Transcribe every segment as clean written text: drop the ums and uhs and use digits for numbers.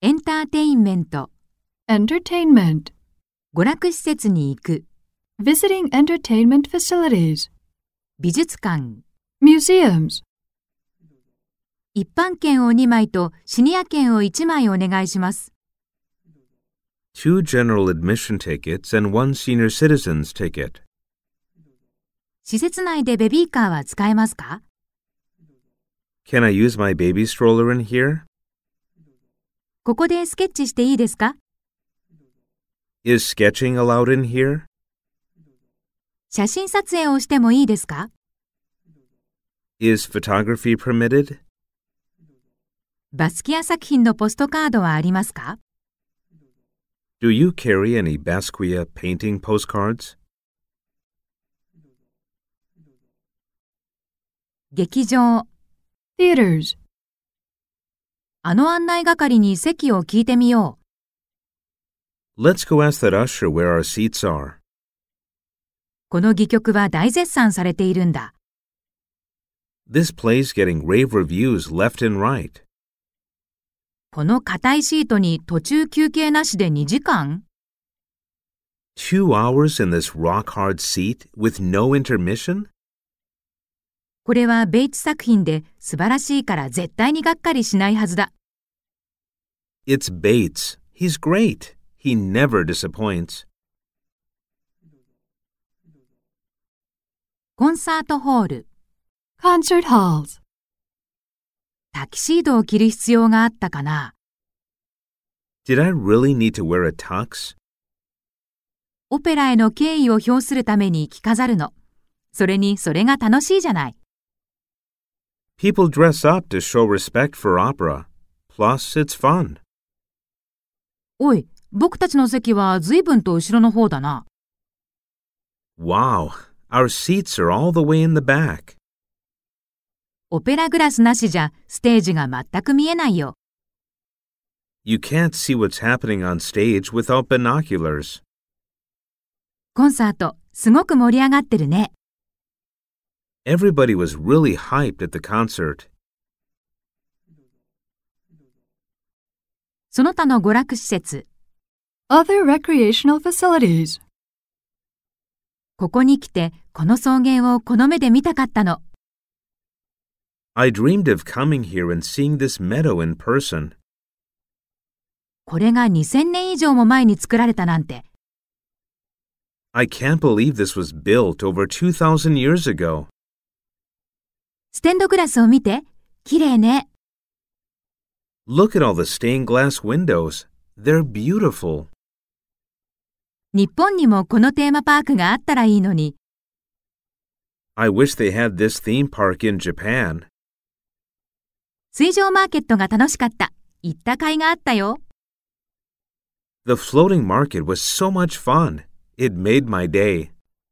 エンターテインメント、 entertainment, 娯楽施設に行く、 visiting entertainment facilities, 美術館、 museums. 一般券を2枚とシニア券を1枚お願いします。 2 general admission tickets and 1 senior citizen's ticket. 施設内でベビーカーは使えますか？ Can I use my baby stroller in here? ここでスケッチしていいですか？ Is sketching allowed in here? 写真撮影をしてもいいですか？ Is photography permitted? バスキア作品のポストカードはありますか？ Do you carry any Basquiat painting postcards? 劇場、 Theaters. あの案内係に席を聞いてみよう。 Let's go ask that usher where our seats are. この戯曲は大絶賛されているんだ。 This play's getting rave reviews left and right. この硬いシートに途中休憩なしで2時間？ 2 hours in this rock-hard seat with no intermission? これはベイツ作品で素晴らしいから絶対にがっかりしないはずだ。 It's Bates. He's great. He never disappoints. コンサートホール、 Concert halls. タキシードを着る必要があったかな？ Did I really need to wear a tux? オペラへの敬意を表するために着飾るの。それにそれが楽しいじゃない。 People dress up to show respect for opera. Plus, it's fun. おい、僕たちの席は随分と後ろの方だな。 Wow, our seats are all the way in the back. オペラグラスなしじゃステージが全く見えないよ。 You can't see what's happening on stage without binoculars. コンサート、すごく盛り上がってるね。 Everybody was really hyped at the concert. その他の娯楽施設、 Other recreational facilities. ここに来てこの草原をこの目で見たかったの。 I dreamed of coming here and seeing this meadow in person. これが2000年以上も前に作られたなんて。 I can't believe this was built over 2,000 years ago. ステンドグラスを見て、綺麗ね。 Look at all the stained glass windows. They're beautiful. 日本にもこのテーマパークがあったらいいのに。 I wish they had this theme park in Japan. 水上マーケットが楽しかった。行った甲斐があったよ。 The floating market was so much fun. It made my day.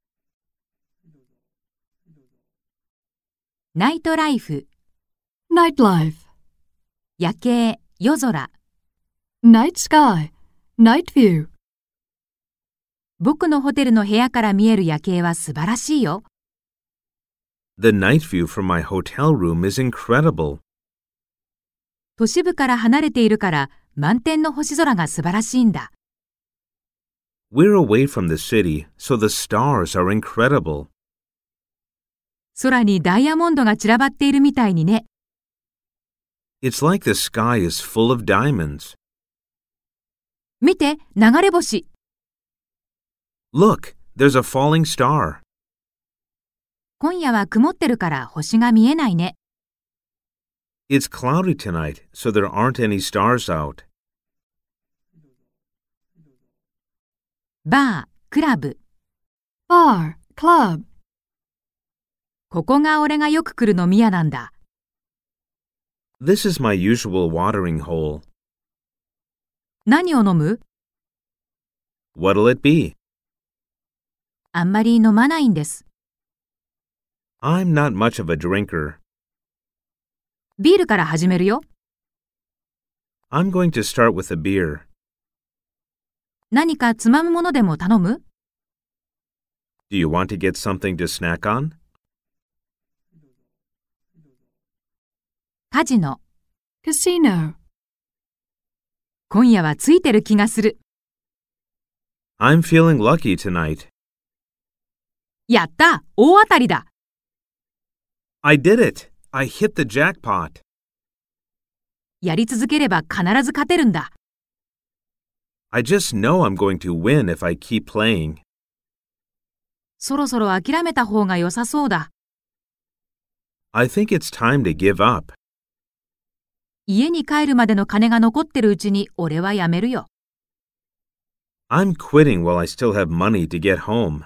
ナイトライフ、 Nightlife. 夜景、夜空。 Night sky. Night view. 僕のホテルの部屋から見える夜景は素晴らしいよ。 The night view from my hotel room is incredible. 都市部から離れているから満天の星空が素晴らしいんだ。 We're away from the city, so the stars are incredible. 空にダイヤモンドが散らばっているみたいにね。 It's like the sky is full of diamonds. 見て、流れ星。 Look, there's a falling star. 今夜は曇ってるから星が見えないね。 It's cloudy tonight, so there aren't any stars out. バー、クラブ。 Bar. Club. ここが俺がよく来る飲み屋なんだ。 This is my usual watering hole. 何を飲む？ What'll it be? あんまり飲まないんです。 I'm not much of a drinker. ビールから始めるよ。 I'm going to start with a beer. 何かつまむものでも頼む？ Do you want to get something to snack on? カジノ、 Casino. 今夜はついてる気がする。 I'm feeling lucky tonight. やった、大当たりだ。 I did it. I hit the jackpot. やり続ければ必ず勝てるんだ。 I just know I'm going to win if I keep playing. そろそろ諦めた方が良さそうだ。 I think it's time to give up. 家に帰るまでの金が残ってるうちに俺はやめるよ。 I'm quitting while I still have money to get home.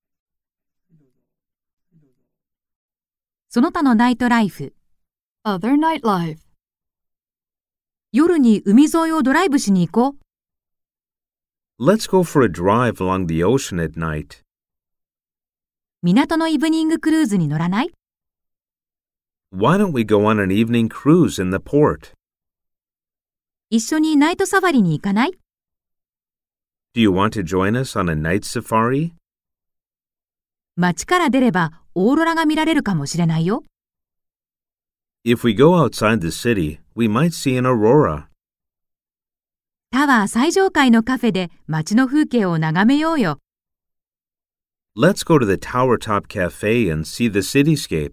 その他のナイトライフ。 Other nightlife. 夜に海沿いをドライブしに行こう。 Let's go for a drive along the ocean at night. 港のイブニングクルーズに乗らない？ Why don't we go on an evening cruise in the port? 一緒にナイトサファリに行かない？ Do you want to join us on a night safari? 街から出ればオーロラが見られるかもしれないよ。 If we go outside the city, we might see an aurora. タワー最上階のカフェで街の風景を眺めようよ。 Let's go to the Tower Top Cafe and see the cityscape.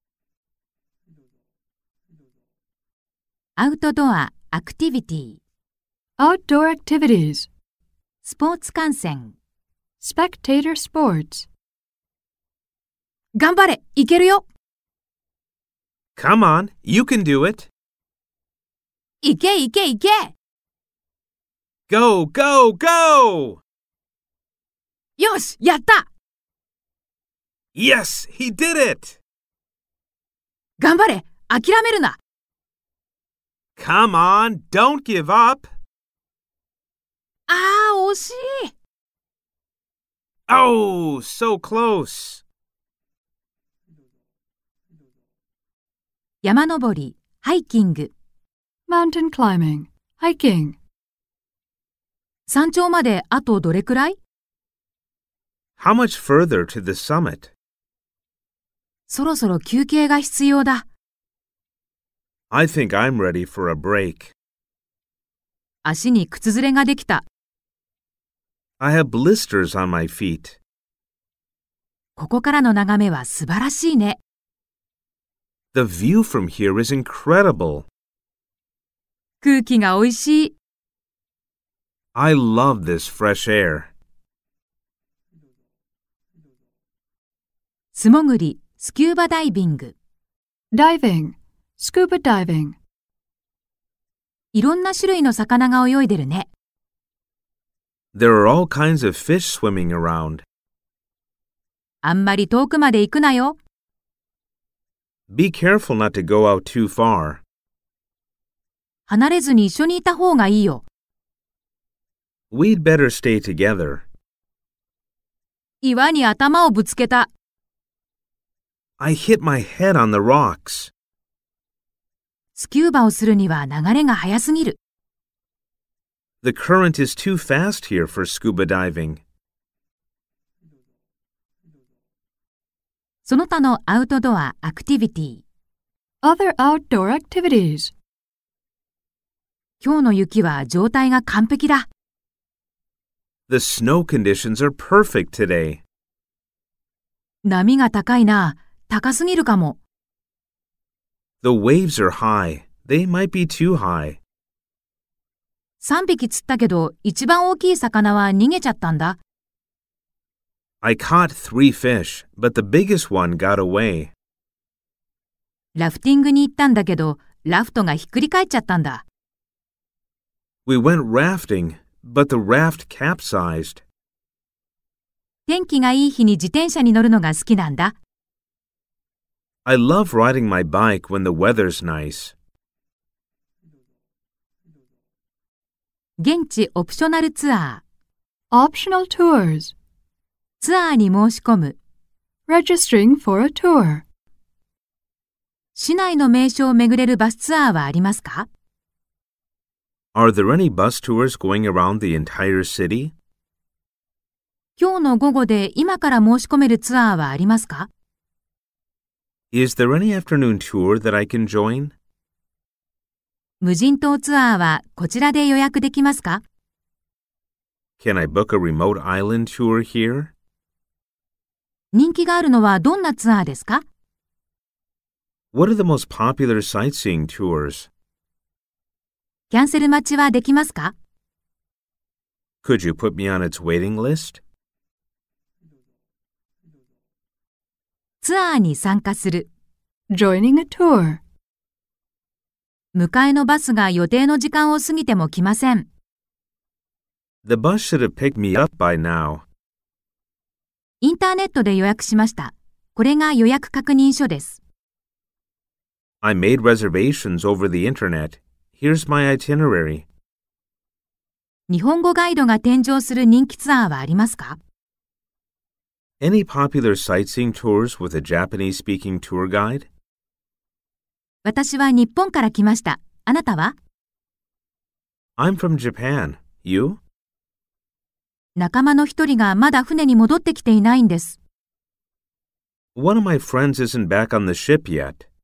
アウトドア、アクティビティ、 Outdoor activities. スポーツ観戦。 Spectator sports. 頑張れ、いけるよ。 Come on, you can do it. いけいけいけ。 Go, go, go! よし、やった。 Yes, he did it! 頑張れ、諦めるな。 Come on, don't give up! あー、惜しい。 Oh, so close! 山登り、ハイキング。 Mountain climbing. Hiking. 山頂まであとどれくらい？ How much further to the summit? そろそろ休憩が必要だ。 I think I'm ready for a break. 足に靴ずれができた。 I have blisters on my feet. ここからの眺めは素晴らしいね。 The view from here is incredible. 空気がおいしい。 I love this fresh air. 素潜り、スキューバダイビング。 Diving. Scuba diving. いろんな種類の魚が泳いでるね。 There are all kinds of fish swimming around. あんまり遠くまで行くなよ。 Be careful not to go out too far. 離れずに一緒にいた方がいいよ。 We'd better stay together. 岩に頭をぶつけた。 I hit my head on the rocks. スキューバをするには流れが速すぎる。 The current is too fast here for scuba diving. その他のアウトドア、アクティビティ。 Other outdoor activities. 今日の雪は状態が完璧だ。 The snow conditions are perfect today. 波が高いな。高すぎるかも。 The waves are high. They might be too high. 3匹釣ったけど、一番大きい魚は逃げちゃったんだ。 I caught 3 fish, but the biggest one got away. ラフティングに行ったんだけど、ラフトがひっくり返っちゃったんだ。 We went rafting, but the raft capsized. 天気がいい日に自転車に乗るのが好きなんだ。 I love riding my bike when the weather's nice. 現地オプショナルツアー。 Optional tours. ツアーに申し込む。 Registering for a tour. 市内の名所を巡れるバスツアーはありますか？ Are there any bus tours going around the entire city? 今日の午後で今から申し込めるツアーはありますか？ Is there any afternoon tour that I can join? 無人島ツアーはこちらで予約できますか？ Can I book a remote island tour here? 人気があるのはどんなツアーですか？ What are the most popular sightseeing tours? キャンセル待ちはできますか？ Could you put me on its waiting list? ツアーに参加する。 Joining a tour. 迎えのバスが予定の時間を過ぎても来ません。 The bus should have picked me up by now. インターネットで予約しました。これが予約確認書です。 I made reservations over the internet. Here's my itinerary. 日本語ガイドが添乗する人気ツアーはありますか？ Any popular sightseeing tours with a Japanese-speaking tour guide? 私は日本から来ました。あなたは？ I'm from Japan. You? 仲間の一人がまだ船に戻ってきていないんです。 One of my friends isn't back on the ship yet.